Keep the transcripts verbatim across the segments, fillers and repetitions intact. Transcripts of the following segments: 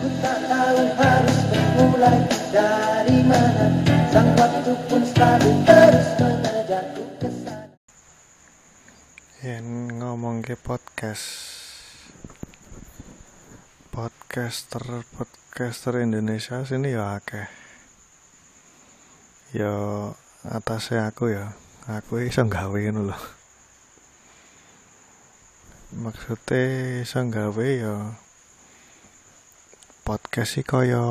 Ku tak tahu harus memulai dari mana, sang waktu pun selalu terus mengejarku ke sana. Yen ngomong ke podcast podcaster podcaster Indonesia sini ya akeh. Ya atasnya aku ya, aku iso gawe ngono lho. Maksudnya iso gawe ya podcast iki kaya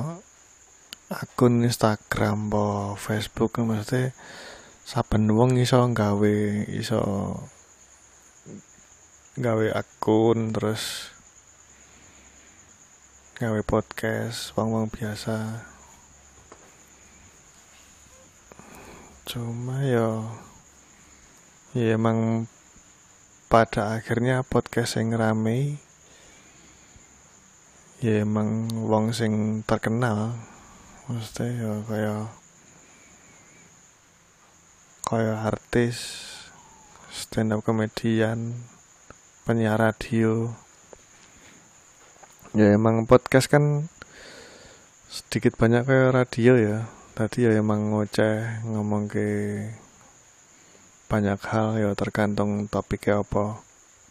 akun Instagram po Facebook, maksudnya saben wong iso gawe iso gawe akun terus gawe podcast wong-wong biasa. Cuma ya ya emang pada akhirnya podcast yang rame ya emang wong sing terkenal, maksudnya ya kaya kaya artis, stand up comedian, penyiar radio. Ya emang podcast kan sedikit banyak kayak radio ya. Tadi ya emang ngoceh, ngomong ke banyak hal ya tergantung topiknya apa.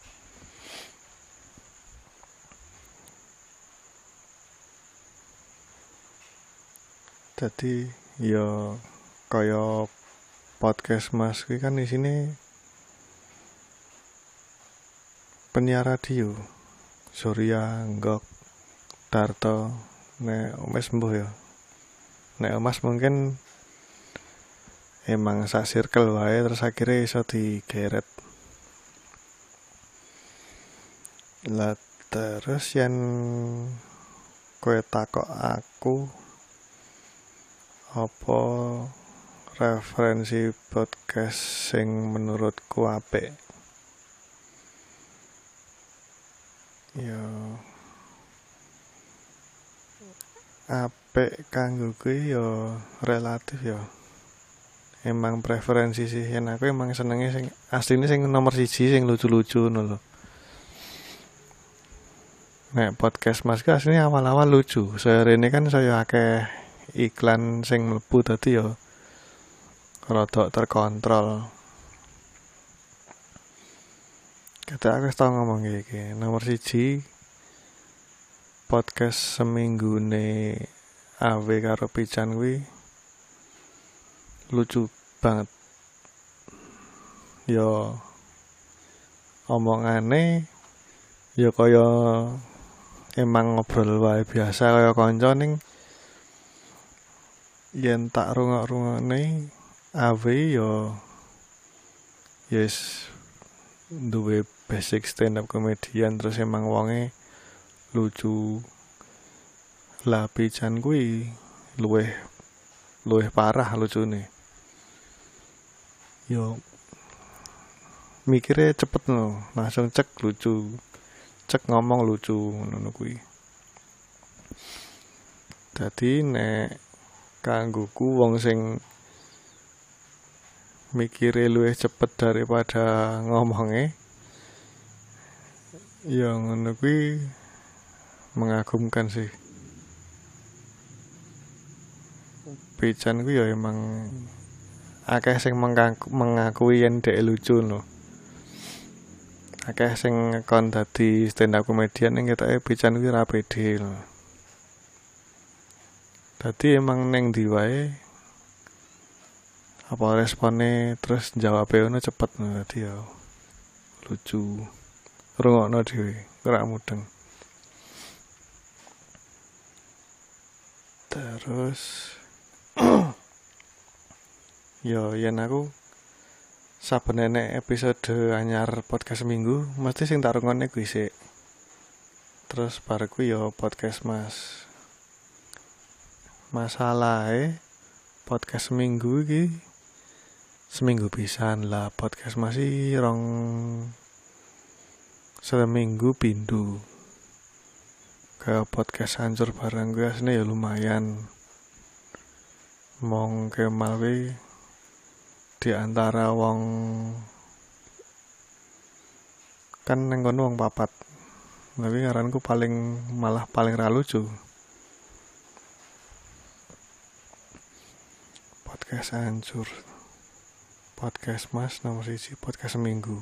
Jadi ya kaya podcast Mas kuwi kan di sini penyiar radio. Surya, Nggok, Darto, nek Mas mbuh ya. Nek Mas mungkin emang sak circle wae terus akhirnya iso digeret. Lah terus yen kowe takok aku apa referensi podcast sing menurutku apik, ya apik kanggo kuwi ya relatif ya. Emang preferensi sih, yen aku emang senenge sing asline sing nomor siji sing lucu-lucu ngono lho. Nek podcast Mas ka asline awal-awal lucu. Sairene kan saya akeh iklan sing mlebu dadi ya rada terkontrol. Kata aku tau ngomong iki, nomor siji podcast seminggune A W karo Pican kuwi lucu banget. Ya omongane ya kaya emang ngobrol wae biasa kaya kanca ning yen tak rungok-rungokne A W ya yes duwe basic stand up comedian terus emang wonge lucu. Lah Pican kuwi luweh luweh parah lucune. Yo mikirnya cepet no, langsung cek lucu, cek ngomong lucu ngono kuwi. Dadi nek kanggoku wong sing mikire luwih cepet daripada ngomongnya ya ngono kuwi mengagumkan sih. Pican kuwi ya emang akeh sing mengaku, mengakui yen dhek lucu no. Akeh sing kon dadi stand up comedian ning ketoke Pican kuwi ra pede. Dadi emang ning ndi wae apa respone terus jawabe ono cepet no, dadi ya lucu. Rungokno dhewe, ora mudeng. Terus yo yen aku saben enek episode anyar podcast seminggu mesti sing tak rungokne kuwi sik. Terus bar kuwi yo podcast Mas. Masalahe podcast seminggu iki seminggu pisan lah, podcast masih rong seminggu pindu. Kayak podcast hancur barang gue aslinya ya lumayan. Mong Kemal kuwi di antara wong kan neng kono wong papat. Tapi ngaranku paling malah paling ra lucu. Podcast hancur. Podcast Mas nomor siji, podcast seminggu.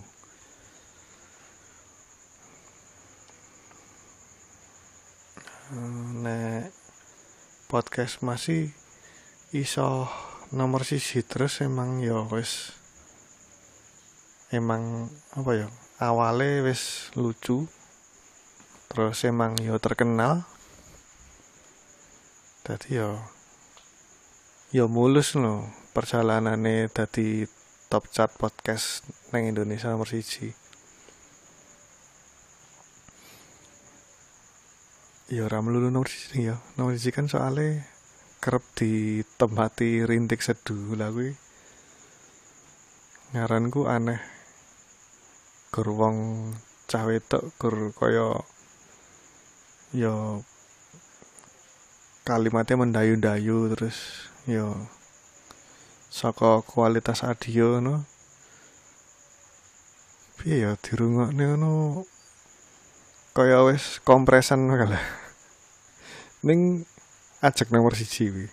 Nek podcast masih iso nomor siji terus emang ya wis emang apa ya awale wis lucu terus emang ya terkenal dadi ya ya mulus no perjalanane dadi top chart podcast nang Indonesia nomor siji. Ya ora melulu nomor siji ya. Nomor siji kan soalnya kerep ditempati rintik seduh lah kuwi. Ngaranku aneh. Gur wong cah wedok gur kaya ya kalimatnya mendayu-dayu terus ya saka kualitas audio no. Piye ya dirungokne ngono kaya wis kompresan kalah. Ning ajek nomor siji kuwi.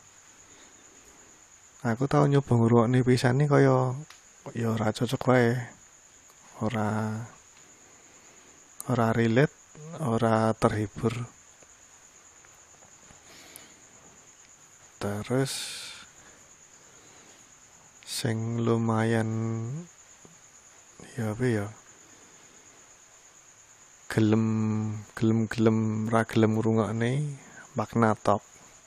Aku tau nyoba ngrungokne pisane kaya ya ora cocok wae. Ora ora relate, ora terhibur. Terus sing lumayan ya apa ya gelem gelem gelem ra gelem ngrungokne Magna Talk.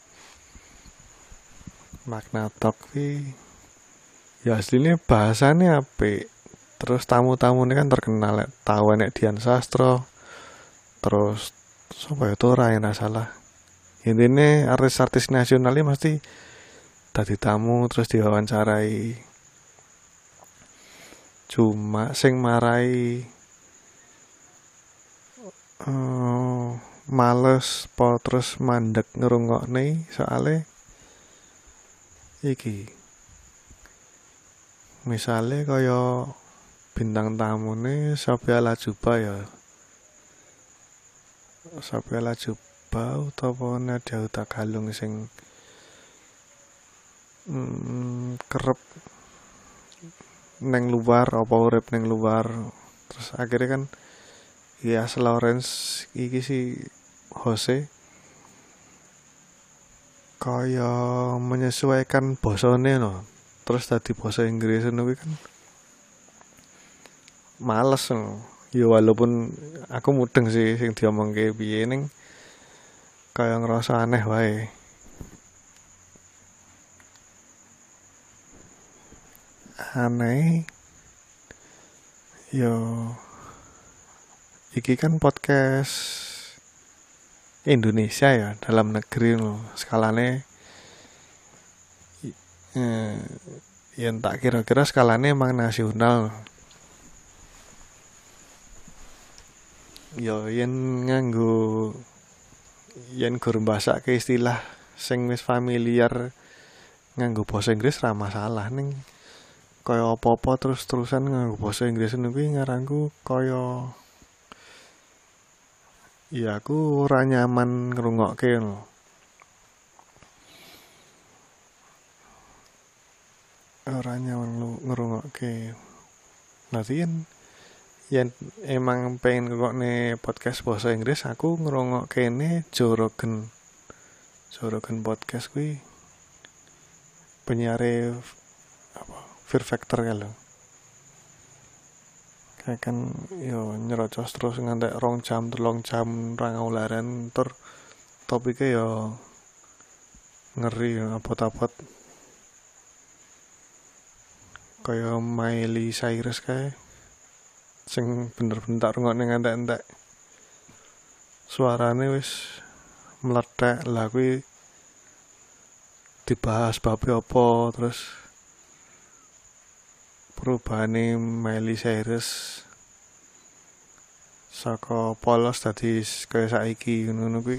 Magna Talk ki ya aslinya bahasane apik. Terus tamu-tamune kan terkenal, tahu nek Dian Sastro. Terus sapa ya Tora yang salah. Intine artis-artis nasionalnya mesti dadi tamu terus diwawancarai. Cuma sing marai uh, males po terus mandek ngerungokne soale iki misale kaya bintang tamune Sophia Latjuba ya Sophia Latjuba utawa Nadia Hutagalung sing mm, kerep neng luar apa urip neng luar terus akhirnya kan ya Lawrence iki si Jose kaya menyesuaikan bosone no terus tadi bahasa Inggris ngono kan males no ya walaupun aku mudeng sih sing diomongke piye ning kaya ngerasa aneh wae. Aneh yo iki kan podcast Indonesia ya dalam negeri loh skalane eh, yang tak kira-kira skalane emang nasional. Yo yen nganggo yen gur mbasake istilah sing wis familiar nganggo basa Inggris ra masalah ning kaya apa-apa terus-terusan nganggo basa Inggris kuwi ngaranku kaya ya aku ora nyaman ngrungokke lho. Ora nyaman ngrungokke. Nanti yen yen emang pengen ngrungokne podcast bahasa Inggris aku ngrungokkene Joe Rogan. Joe Rogan podcast kuwi penyiare apa Fear Factor ya lho. Kayak kan yo nyerocos terus ngantek rong jam telung jam ra ngaularan tur topike yo ngeri apot-apot kaya Miley Cyrus kae sing bener-bener tak rungokne ngantek-entek suarane wis meletek lah kuwi dibahas bab apa terus perubahane Miley Cyrus saka polos dadi kaya saiki ngono kuwi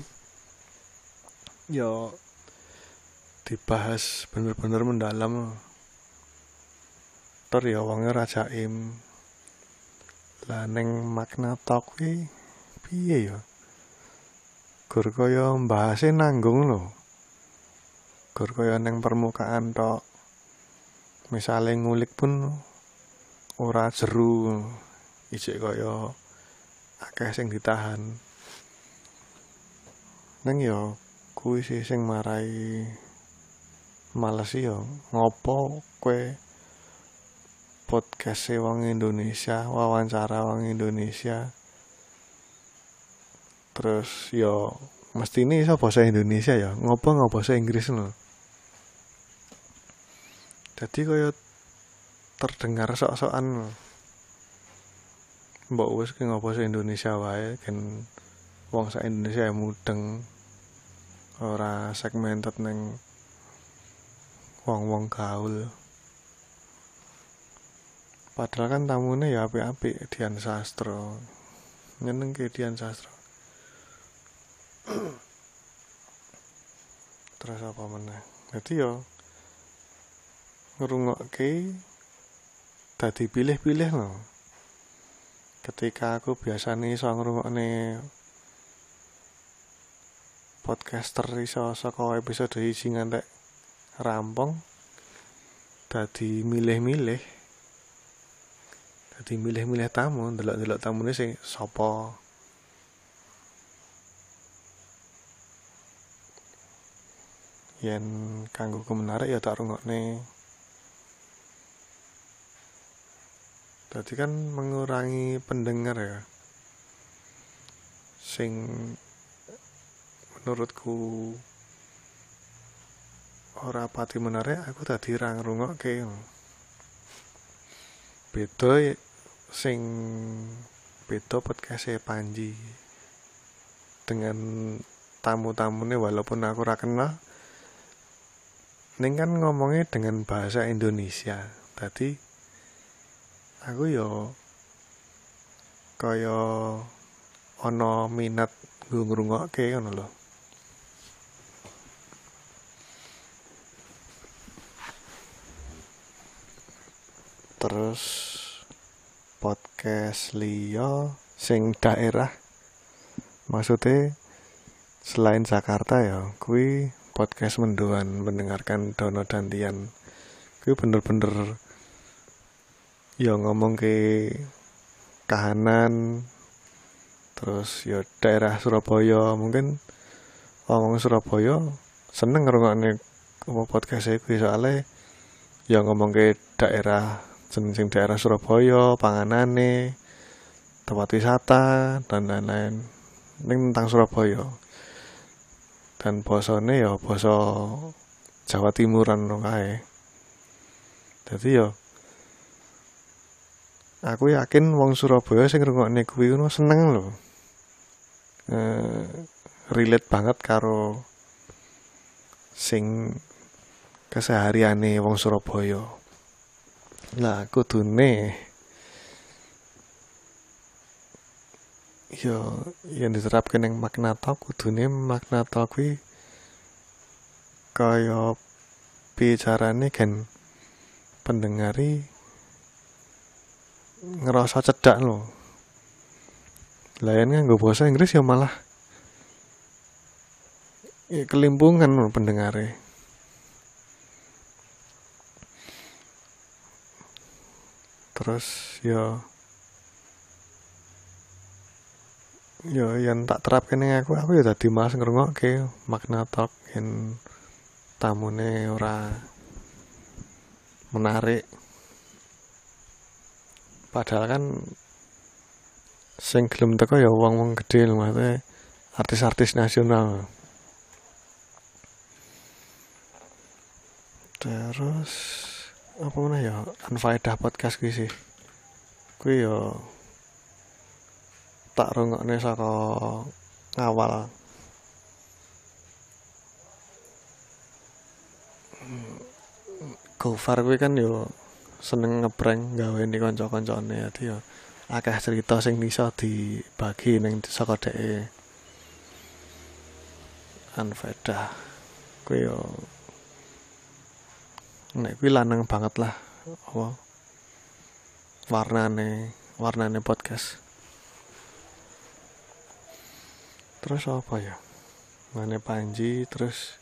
ya dibahas bener-bener mendalam. Ter ya wonge ra jaim. Lah ning Magna Talk kuwi piye ya? Gur kaya mbahase nanggung lho. Gur kaya ning permukaan tok. Misale ngulik pun ora jeru. Ijik kaya akeh sing ditahan. Neng ya kuwi sih sing marai males ya. Ngopo kowe podcast wong Indonesia, wawancara wong Indonesia. Terus ya mestine iso basa Indonesia ya. Ngopo ngopo basa Inggris lho. Dadi kaya terdengar sok-sokan. Mbok wis ki ngopo basa Indonesia wae kan wong sak Indonesia mudeng. Ora segmented neng wong-wong gaul. Padahal kan tamune ya apik-apik Dian Sastro. Nyenengke Dian Sastro. Terus apa meneh? Dadi yo ngrungokke dadi pilih-pilih lho. Ketika aku biasane iso ngrungokne podcaster iso saka episode siji ngantek rampung, dadi milih-milih. Dadi milih-milih tamu, ndelok-ndelok tamune sing sapa. Yen kanggo ku menarik ya tak rungokne. Dadi kan mengurangi pendengar ya. Sing menurutku ora pati menarik, aku dadi ra ngrungokke. Beda sing beda podcast Panji dengan tamu-tamune walaupun aku ora kenal. Ning kan ngomongnya dengan bahasa Indonesia. Tadi aku yo kaya ana minat nggo ngrungokke ngono lho. Terus podcast liya sing daerah maksudnya selain Jakarta ya kuwi podcast mendoan mendengarkan Dono Dantian. Kuwi bener-bener ya ngomong ke kahanan. Terus ya daerah Surabaya, mungkin wong Surabaya seneng ngrungokne podcast e kuwi soalé ya ngomong ke daerah sing daerah Surabaya, panganane, tempat wisata dan lain-lain. Ning tentang Surabaya. Dan basane ya basa Jawa Timuran kae. Dadi ya aku yakin wong Surabaya sing ngrungokne kuwi ngono seneng lho. Eh, relate banget karo sing kesehariane wong Surabaya. Lah kudune yo yang diterapke ning Magnatalk kudune Magnatalk kuwi kaya bicarane kan pendengari ngerasa cedak lho. Lah yen nganggo basa Inggris ya malah ya, kelimpungan lho pendengare. Terus ya ya yang tak terapkan ning aku aku ya dadi mas ngrungokke Magnatalk yen tamune ora menarik. Padahal kan sing gelem teko ya wong-wong gedhe lho, maksudnya artis-artis nasional. Terus apa mana ya Anfaedah podcast kuwi sih. Kuwi ya tak rungokne saka awal. Gofar kuwi kan yo seneng ngeprank gaweni kanca-kancane ya dia akeh cerita sing iso dibagi ning saka dheke. Anfaedah kuwi yo nek kuwi lanang banget lah apa warnane warnane podcast. Terus apa ya? Mane Panji, terus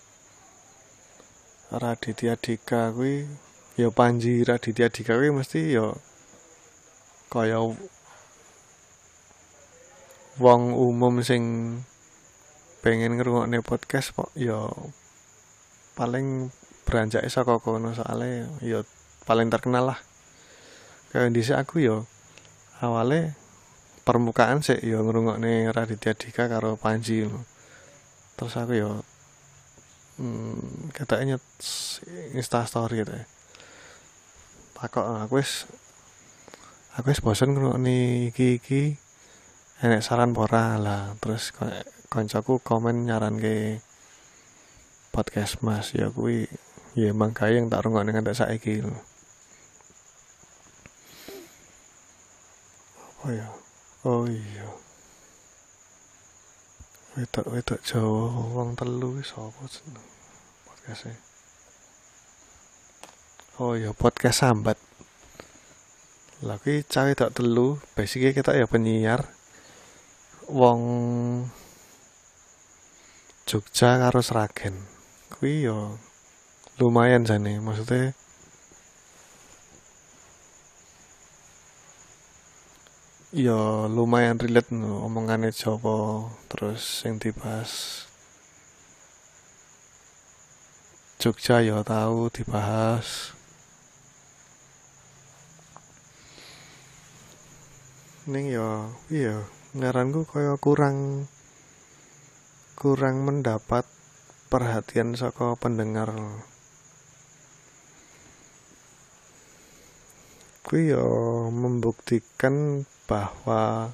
Raditya Dika kuwi, ya Panji Raditya Dika kuwi mesti ya kaya wong umum sing pengen ngrungokne podcast kok ya paling beranjake saka kono, soalnya ya paling terkenal lah. Kayak dhisik aku ya awale permukaan sih ya ngrungokne Raditya Dika karo Panji. Terus aku ya hmm, katanya Insta story gitu. Takok aku wis aku wis bosen ngrungokne iki-iki. Enek saran pora lah. Terus koncoku komen nyaran ke podcast Mas, ya kuwi ya emang kae yang tak rungokne nganti saiki lho. Apa ya? Oh iya. Wedok-wedok Jawa wong telu sapa jeneng podcast-e? Oh iya, podcast Sambat. Lah kuwi cah wedok telu, basicnya kita ya penyiar wong Jogja karo Sragen. Kuwi yo lumayan jane, maksudnya yo lumayan relate no, omongane Jawa, terus yang dibahas Jogja yo tahu dibahas. Ning yo iya ngaranku kaya kurang kurang mendapat perhatian saka pendengar. Kuwi yo membuktikan bahwa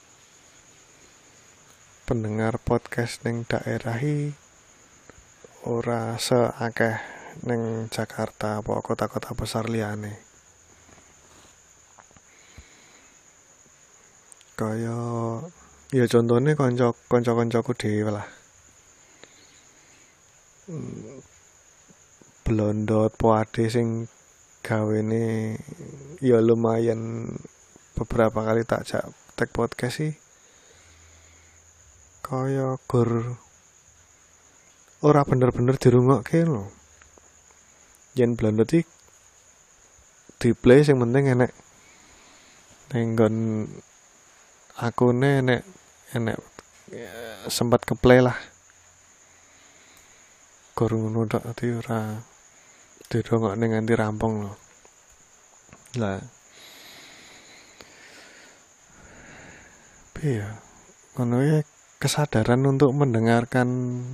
pendengar podcast ning daerahi ora seakeh ning Jakarta apa kota-kota besar liyane. Kaya ya contohnya konco konco-koncoku dhewe lah. Hmm, Blondot Poade sing gawene ya lumayan beberapa kali tak jak tag podcast sih. Kaya gur ora bener-bener dirungokke lho. Yen Blondot iki di play sing penting enek ning nggon akune enek enek ya, sempat ke play lah. Gur ngono tok dadi ora dirungokne nganti rampung lho. Lah piye ngono ya, kesadaran untuk mendengarkan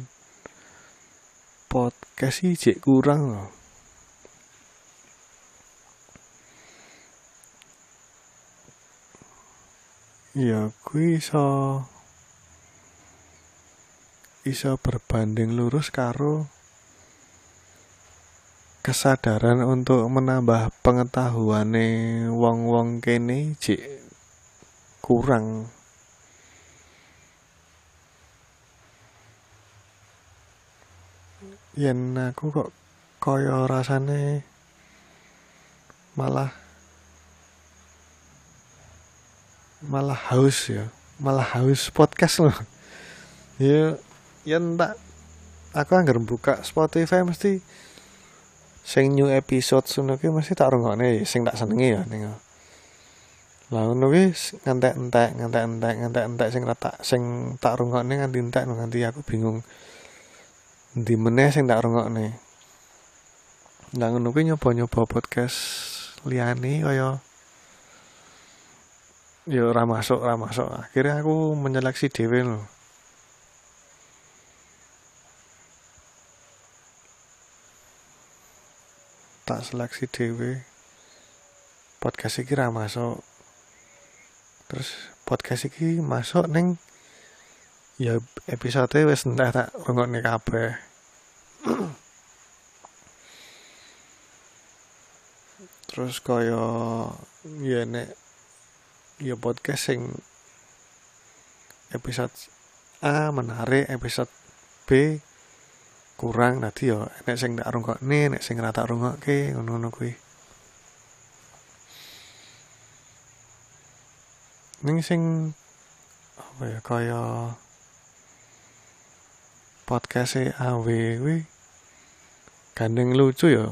podcast sih jek kurang loh. Ya kuwi iso iso berbanding lurus karo kesadaran untuk menambah pengetahuane wong-wong kene jek kurang. Yen aku kok kaya rasane malah malah haus ya, malah haus podcast loh. Ya yen tak aku anggar buka Spotify mesti sing new episode ngono ki mesti tak rungokne sing tak senengi ya ning. Lah ngono ki ngantek-entek, ngantek-entek, ngantek-entek sing tak sing tak rungokne nganti entek nganti aku bingung. Ndi meneh sing tak rungokne. Lah ngono ki nyoba-nyoba podcast liyane kaya ya ora masuk, ora masuk. Akhirnya aku menyeleksi dhewe lho. Tak seleksi dhewe. Podcast iki ra masuk. Terus podcast iki masuk ning ya episode wis entek tak rungokne kabeh. Terus kaya ya nek ya podcast sing episode A menarik, episode B kurang, nanti ya nek sing tak rungokne, nek sing ora tak rungokke ngono-ngono kuwi. Ning sing apa ya kaya podcast e A W kuwi gandeng lucu ya.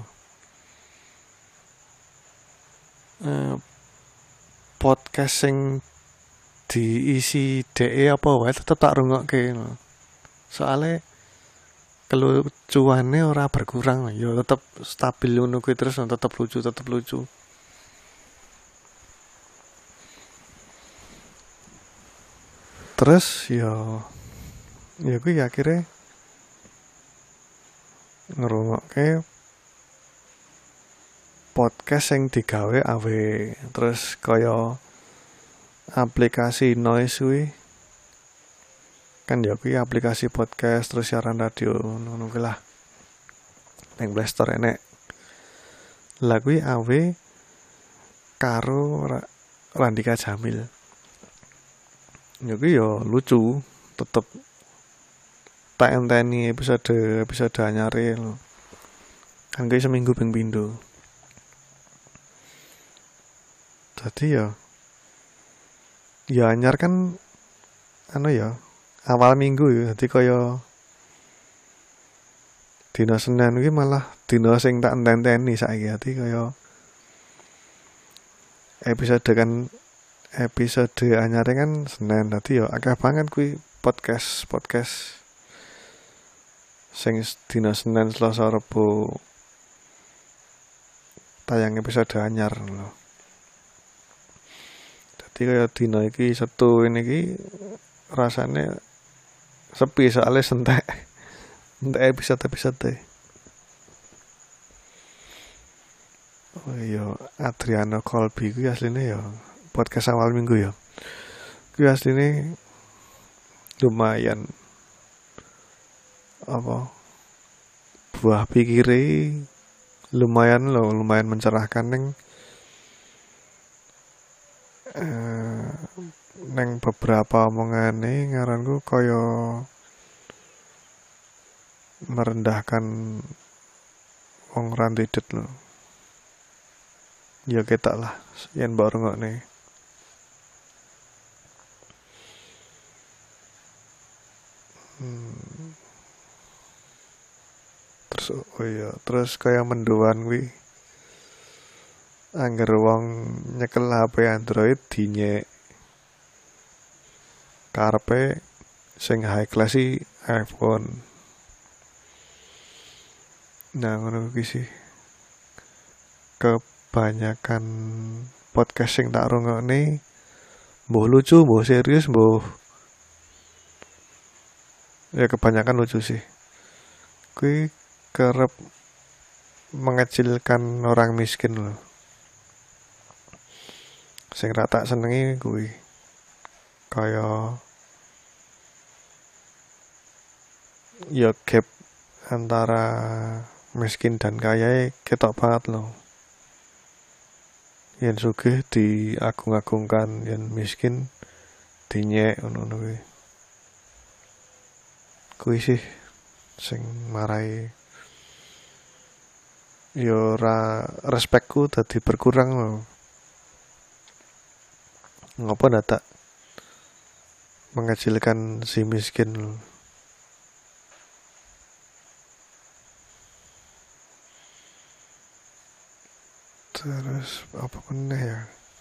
Eh, podcast sing diisi D E apa wae tetep tak rungokke. Soale kelucuannya ora berkurang, ya tetep stabil ngono kuwi terus tetep lucu, tetep lucu. Terus ya ya kuwi akhirnya ngrungokke podcast yang digawe A W, terus kaya aplikasi Noise kuwi kan ya kuwi aplikasi podcast terus siaran radio ngono kuwi lah. Nang Play Store enek. Lah kuwi A W karo Randika Jamil. Ya kuwi ya lucu, tetep tak enteni episode episode anyare lho. Kan kuwi seminggu ping pindho. Jadi ya ya anyar kan anu ya awal minggu ya, jadi kaya dina Senin kuwi malah dina sing tak enteni saiki, dadi kaya episode kan episode anyare kan Senin, dadi ya akeh banget kuwi podcast podcast sing dina Senin, Selasa, Rebo tayang episode anyar lho. Dadi kaya dina iki Setu ini iki rasane sepi soalnya sentek entek episode-episode. Oh iya, Adriano Colby kuwi asline ya podcast awal minggu ya. Kuwi asline lumayan apa buah pikire lumayan loh, lumayan mencerahkan neng eh, neng beberapa omongane ngaranku kaya merendahkan wong rantidet lho. Ya ketok lah yen mbok rungokne. Hmm. Terus oh iya, terus kaya mendoan kuwi angger wong nyekel H P Android dinyek karepe sing high class i iPhone. Nah ngono kuwi sih kebanyakan podcast sing tak rungokne mbuh lucu, mbuh serius, mbuh ya kebanyakan lucu sih. Kuwi kerep mengecilkan orang miskin loh. Sing ra tak senengi kuwi kaya ya gap antara miskin dan kaya ketok banget loh. Yen sugih diagung-agungkan, yen miskin dinyek ngono kuwi. Kuwi sih sing marai yo ora respekku dadi berkurang loh. Ngopo ndak mengecilkan si miskin loh. Terus apa meneh ya?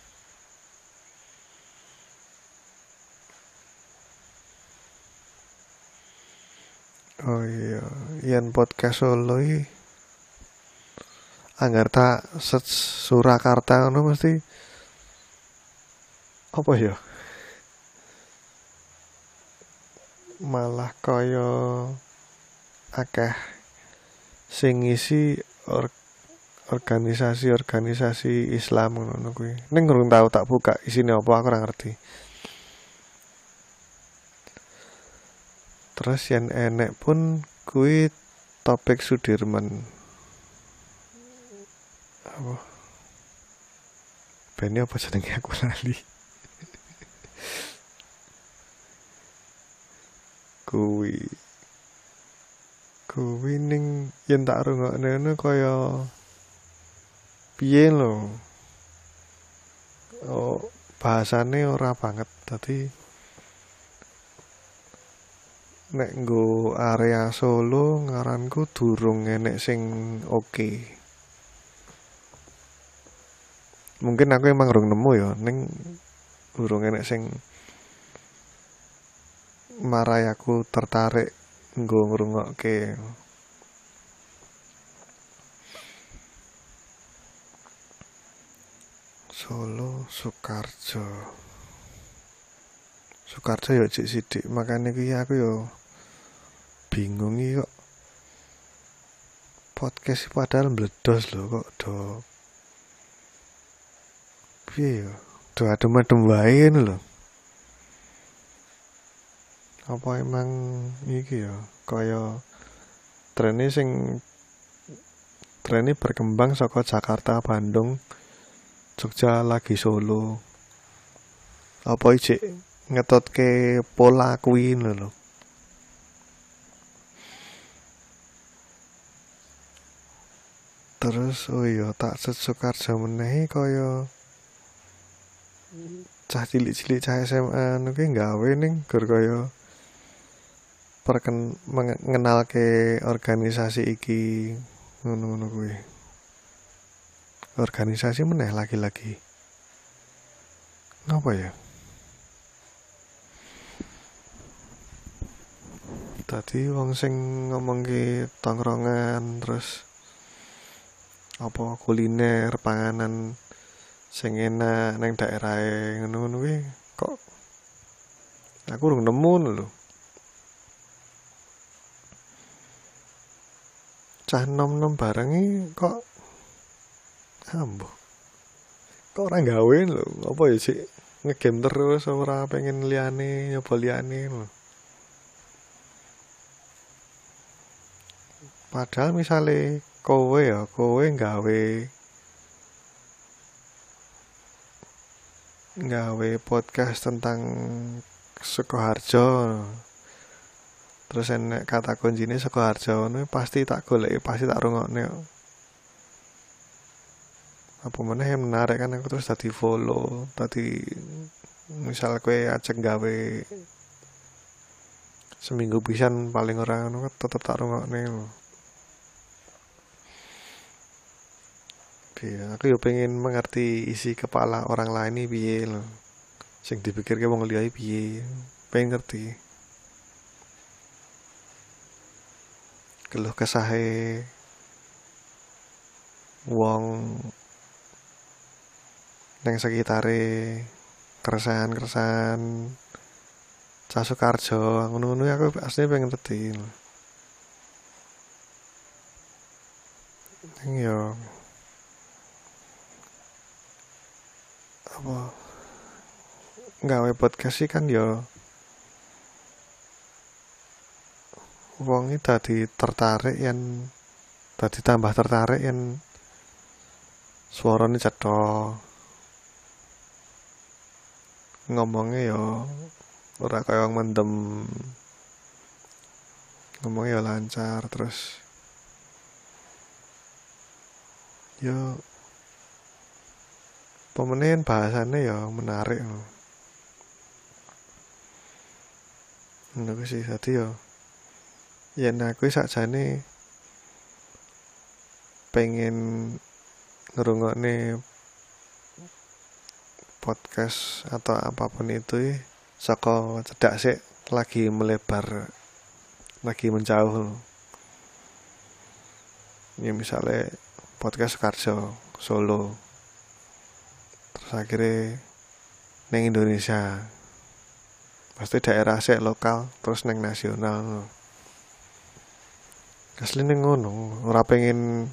Oh iya, yen podcast Solo iki anggar tak set Surakarta ngono mesti apa ya? Malah kaya akeh sing ngisi or organisasi-organisasi Islam ngono kuwi. Ning urung tau tak buka isine apa aku ora ngerti. Terus yang enek pun kuwi topik Sudirman. Apa? Bene apa jenenge aku lali. Kuwi kuwi ning yen tak rungokne ngono kaya piye lho. Oh, bahasane ora banget. Dadi nek nggo area Solo ngaranku durung enek sing oke. Mungkin aku emang urung nemu ya, ning urung enek sing marai aku tertarik nggo ngrungokke. Solo Sukarjo. Sukarjo ya cik sidik, makane kuwi aku ya bingung iki kok podcast padahal meledos lho kok do piye ya do adem-adem wae ngono lho. Apa emang iki ya kaya trene sing trene berkembang saka Jakarta, Bandung, Jogja lagi Solo. Apa iki ngetotke pola kuwi lho. Terus oh iya tak Sukarjo meneh kaya cah cilik-cilik cah S M A nu ki gawe ning gur kaya perken mengenalke organisasi iki ngono-ngono kuwi. Organisasi meneh lagi-lagi. Ngapa ya? Tadi wong sing ngomongke tongkrongan terus apa kuliner panganan sing enak neng daerahe ngono-ngono kuwi kok aku urung nemu lho. Cah nom-nom barengi kok ambo. Kok ora gawe lho, apa ya sih ngegame terus ora pengen liyane nyoba liyane lho. Padahal misale kowe ya, kowe gawe gawe podcast tentang Sukoharjo. Terus enek kata kuncine Sukoharjo ngono pasti tak goleki, pasti tak rungokne. Apa meneh yang menarik kan aku terus tadi follow, tadi misal kowe ajeng gawe seminggu pisan paling ora ngono tetep tak rungokne. Iya, aku yo pengen mengerti isi kepala orang lain ini piye lho. Sing dipikirke wong liya piye. Pengen ngerti. Keluh kesahe wong neng sekitare, keresahan-keresahan Cah Sukarjo, ngono-ngono aku asline pengen ngerti. Ning yo apa gawe podcast sih kan yo wong iki dadi tertarik yen dadi tambah tertarik yen suarane cetha ngomongnya yo ora kaya wong mendem ngomongnya yo lancar terus yo pemenin bahasannya ya menarik loh. Ngono sih tadi ya. Yen aku sakjane pengen ngrungokne podcast atau apapun itu saka cedak sik lagi melebar, lagi menjauh. Ya misalnya podcast Sukarjo Solo. Terus akhirnya neng Indonesia pasti daerah sik lokal terus neng nasional asline ngono ora pengen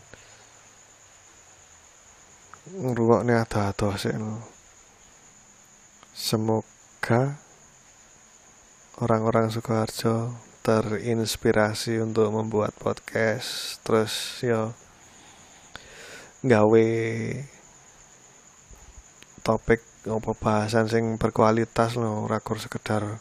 ngrungokne ado-ado sik. Semoga orang-orang Sukoharjo terinspirasi untuk membuat podcast terus yo gawe topik apa bahasan sing berkualitas lho, ora kur sekedar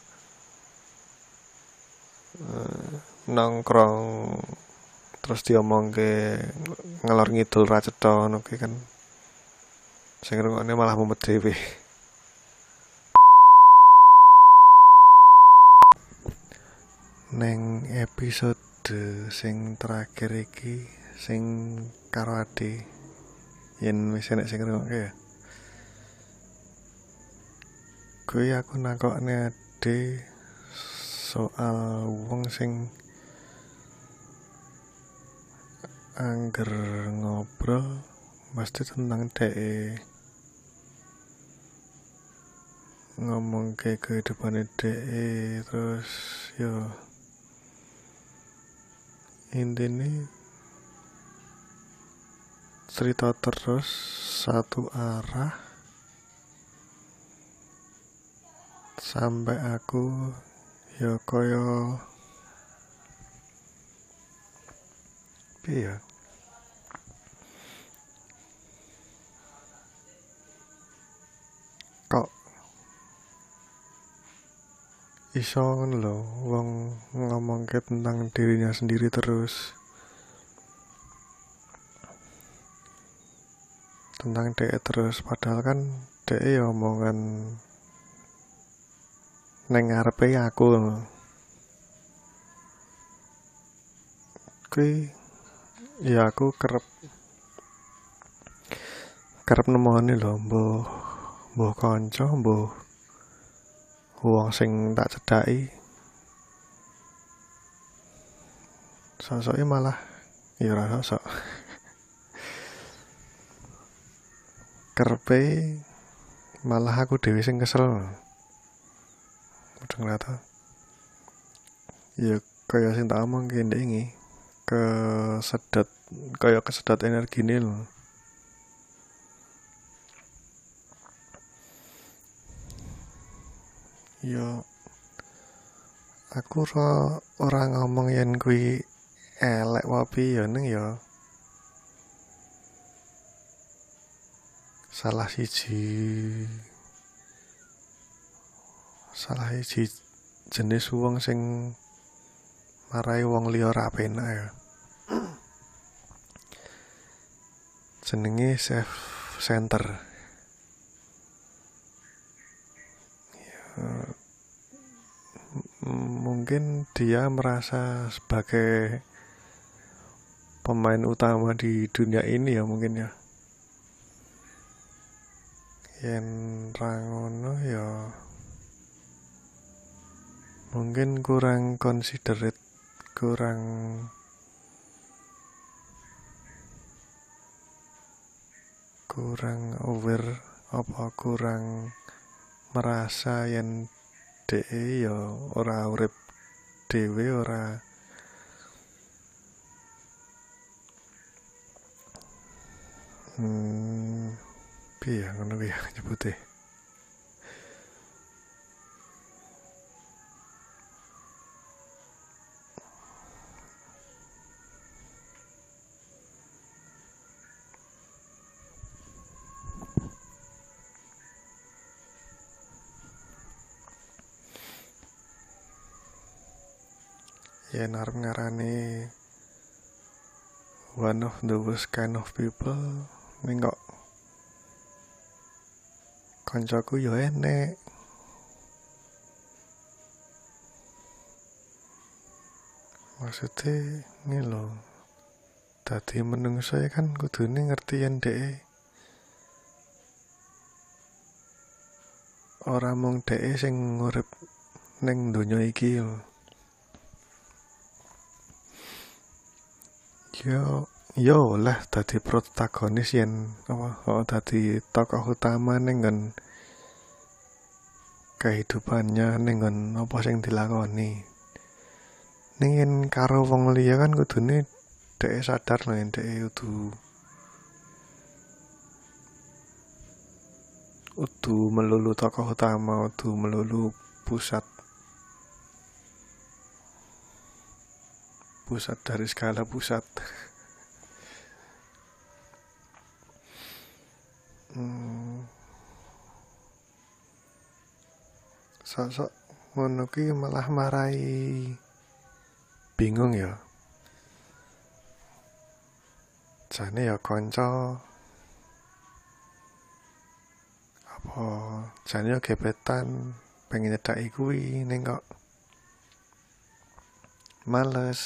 uh, nongkrong terus diomongke ngalor ngidul ra cetha ngono ki kan sing ngrungokne malah mumet dhewe. neng episode sing terakhir iki sing karo ade yen wis enek sing ngrungokke ya. Kuwi aku nakokne ade soal wong sing angger ngobrol pasti tentang dhek ngomong ke kehidupan dhek, terus yo intine cerita terus satu arah sampai aku yo koyo piye ya, kok iso ngono lho wong ngomongke tentang dirinya sendiri terus, tentang dhek terus, padahal kan dhek ya omongan neng ngarepe aku. Kuwi ya aku kerep kerep nemoni lho, mbuh mbuh kanca, mbuh wong sing tak cedhaki, sosoke malah ya ora sosok. Kerepe malah aku dhewe sing kesel. Udah ngerasa ya kaya sing tak omong ki ndek iki kesedot, kaya kesedot energi nih lho. Yo aku ora ora ngomong yen kuwi elek wae ya, ning ya salah siji salah siji jenis wong sing marai wong liya ra penak ya. Jenenge self center. Ya, mungkin dia merasa sebagai pemain utama di dunia ini ya, mungkin ya. Yen ra ngono ya mungkin kurang considerate, kurang kurang aware, apa kurang merasa yen dhek ya ora urip dhewe, ora hmm piye ya ngono ya nyebute. Yen arep ngarani one of those kind of people, ning kok kancaku yo enek. Maksudnya ini lho, dadi menungso kan kudune ngerti yen dhek ora mung dhek sing urip ning donya iki lho. Yo yo lah dadi protagonis yen apa oh, dadi tokoh utama ning nggon kehidupannya, ning nggon apa sing dilakoni. Ning yen karo wong liya kan kudune dhek sadar lho yen dhek kudu kudu melulu tokoh utama, kudu melulu pusat pusat dari segala pusat. hmm. Sok-sok ngono ki malah marai bingung ya. Jane ya kanca apa jane ya gebetan pengen nyedaki kuwi, ning kok males.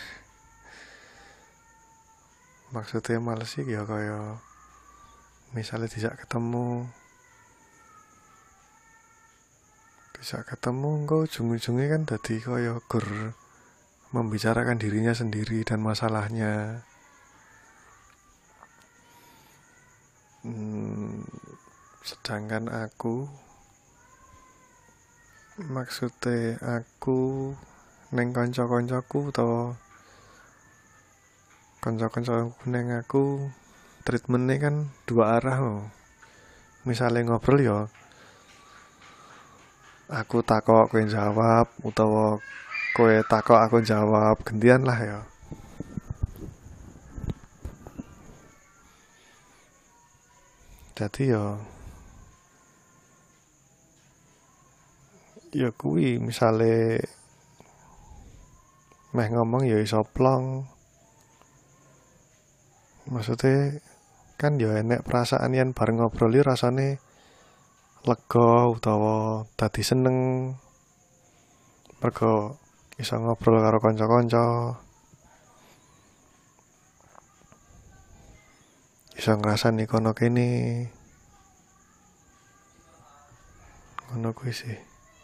Maksudnya males sih ya kaya misalnya tidak ketemu tidak ketemu engko ujung-ujungnya kan dadi kaya gur membicarakan dirinya sendiri dan masalahnya. Hmm, sedangkan aku maksudnya aku neng kanca-kancaku utawa kanca-kancaku neng aku treatmentnya kan dua arah loh. Misalnya ngobrol ya aku takok kowe jawab utawa kowe takok aku jawab, gantian lah ya. Jadi ya ya kuwi misale meh ngomong ya iso plong. Maksudnya kan ya enek perasaan yen bareng ngobrol iki rasane lega utawa dadi seneng. Mergo iso ngobrol karo kanca-kanca. Iso ngrasani kono kene. Ngono kuwi sih.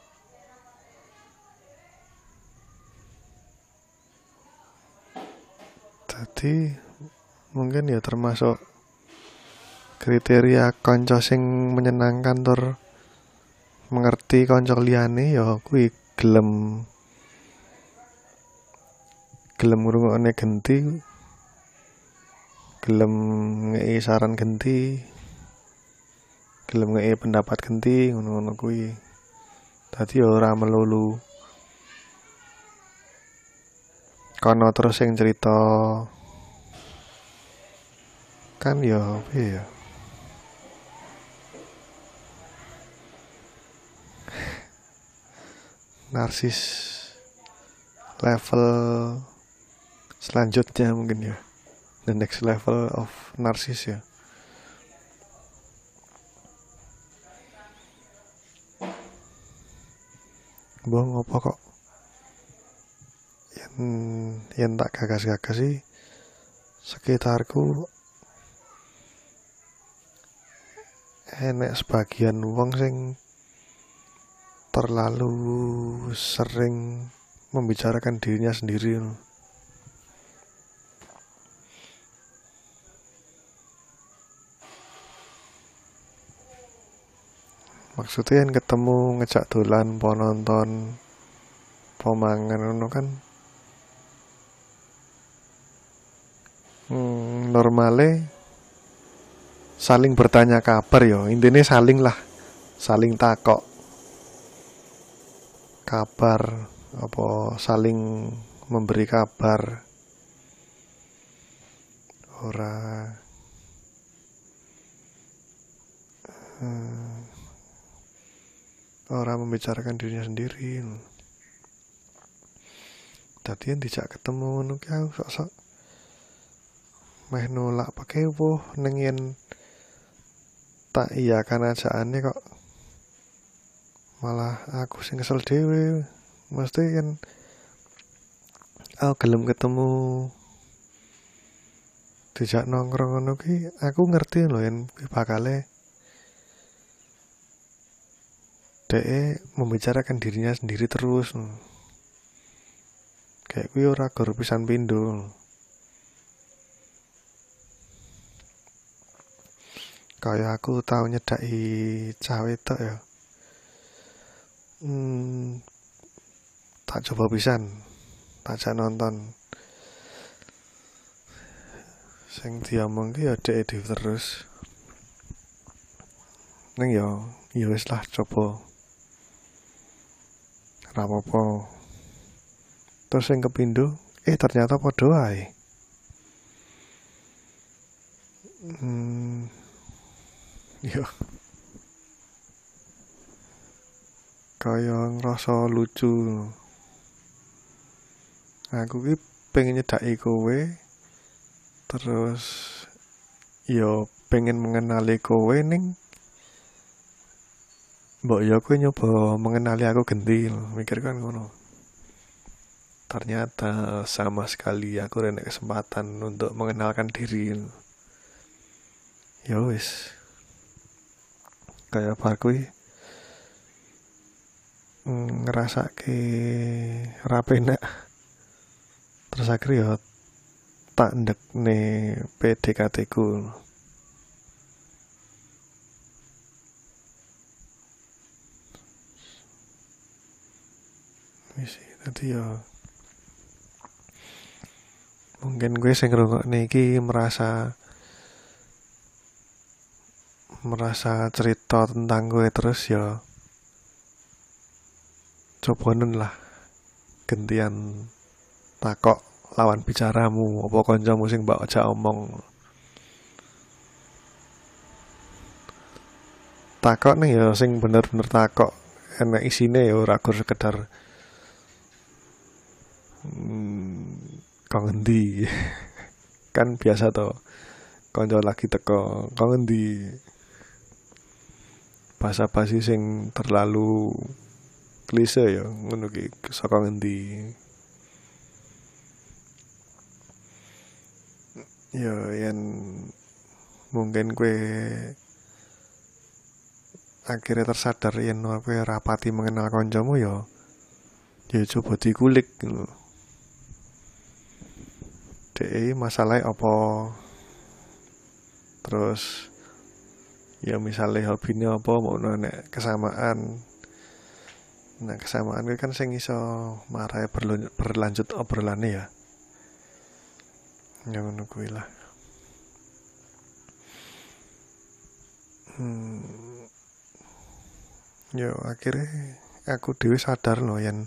Jadi mungkin ya termasuk kriteria kanca sing menyenangkan tur mengerti kanca liyane ya kuwi gelem gelem ngrungokne genti, gelem ngei saran genti, gelem ngei pendapat genti, ngono-ngono kuwi. Dadi ya ora melulu kono terus sing cerita kan ya piye ya. Narsis level selanjutnya mungkin ya, the next level of narsis ya. Bohong apa kok yen yen tak gagas-gagas sih sekitarku enek sebagian wong sing terlalu sering membicarakan dirinya sendiri. Maksudnya yang ketemu ngejak dolan, po nonton, po mangan ngono kan hmm, normale saling bertanya kabar ya, intinya saling lah, saling takok kabar, apa saling memberi kabar. Ora hmm, ora membicarakan dirinya sendiri. Tadi yang dijak ketemu ngono ki aku sok-sok meh nolak pakai woh ning yen tak iya kan ajaane kok malah aku sing kesel dhewe. Mesti kan aku gelem ketemu dijak nongkrong ngono ki aku ngerti lho yen bakale dhek membicarakan dirinya sendiri terus. Kayak kuwi ora gor pisan pindho. Kayak aku tau nyedaki cah wedok ya. Hmm, tak coba pisan, tak jak nonton. Sing diomong ki ya dhek dhewe terus. Neng ya, ya wis lah coba. Ora apa-apa. Terus sing kepindho, eh ternyata padha wae. Hmm. Yo. Kaya ngerasa lucu. Aku ki pengen nyedaki kowe. Terus yo pengen mengenali kowe ning mbok ya kowe nyoba mengenali aku genti, mikir kan ngono. ternyata sama sekali aku rene kesempatan untuk mengenalkan diri. Ya wis, kayak apa aku ngerasa ke rapenak. Terus akhirnya ya tak ndek ne P D K T ku. Wis tadi ya mungkin gue sing ngrungokne iki merasa merasa cerita tentang gue terus ya cobanen lah gantian takok lawan bicaramu apa kancamu sing mbak aja omong. Takok nih ya sing bener-bener takok enak isine ya ora gur sekedar hmm, kok ngendi. Kan biasa to kanca lagi teko kok ngendi. Basa-basi sing terlalu klise ya ngono ki saka ngendi. Ya yen mungkin kue akhirnya tersadar yen kowe rapati mengenal kancamu ya ya coba dikulik gitu. Dek masalahnya apa? Terus ya misalnya hobinya apa, mau nek kesamaan. Nah kesamaan kan sing iso marai berlanjut obrolane ya. Ya ngono kuwi lah. Hmm. Ya akhirnya aku dhewe sadar loh yen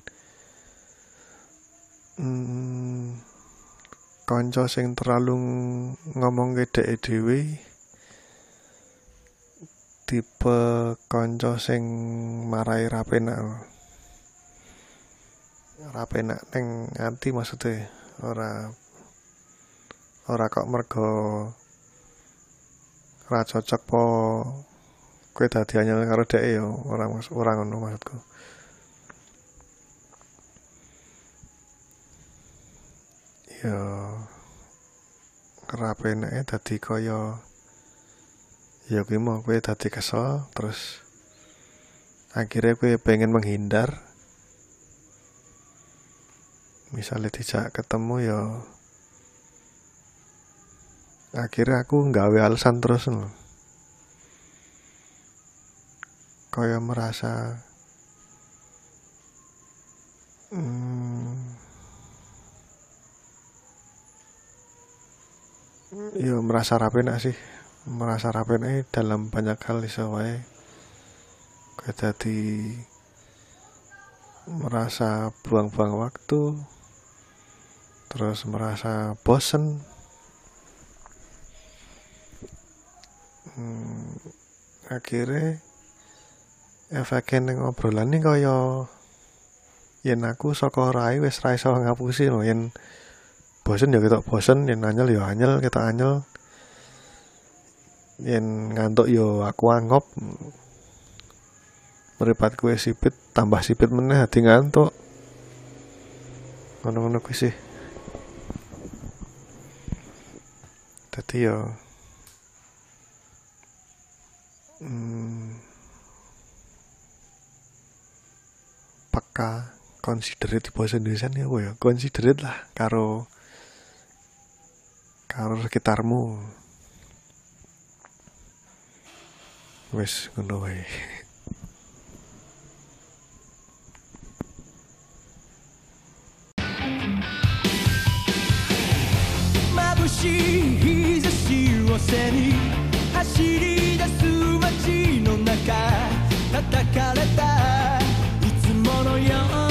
hmm, kanca sing terlalu ngomong ke dhek dhewe tipe kanca sing marai ra penak. Ra penak ning ati maksudnya ora ora kok mergo ra cocok po kowe dadi anyel karo dhek ya ora ora ngono maksudku. Ya ra penake dadi kaya ya kuwi mau kowe dadi kesel terus akhirnya kowe pengen menghindar. Misalnya dijak ketemu ya akhirnya aku nggawe alasan terus loh. Kaya merasa hmm, ya merasa rapenak sih. Merasa rapenak dalam banyak hal iso wae. Kaya dadi merasa buang-buang waktu. Terus merasa bosen. Hmm, akhirnya efeknya ning obrolan ini kaya yen aku saka rai wis ra iso ngapusi lho. Yen bosen ya ketok bosen, yen anyel ya anyel, ketok anyel. Yen ngantuk ya aku angop. Mripatku wis sipit, tambah sipit meneh hati ngantuk. Ngono-ngono kuwi sih. Dadi ya hmm, peka considerate bahasa Indonesia ya apa ya considerate lah karo karo sekitarmu. Wes ngono wae. Mabushiい日差しを背に走り出す街の中叩かれたいつものよう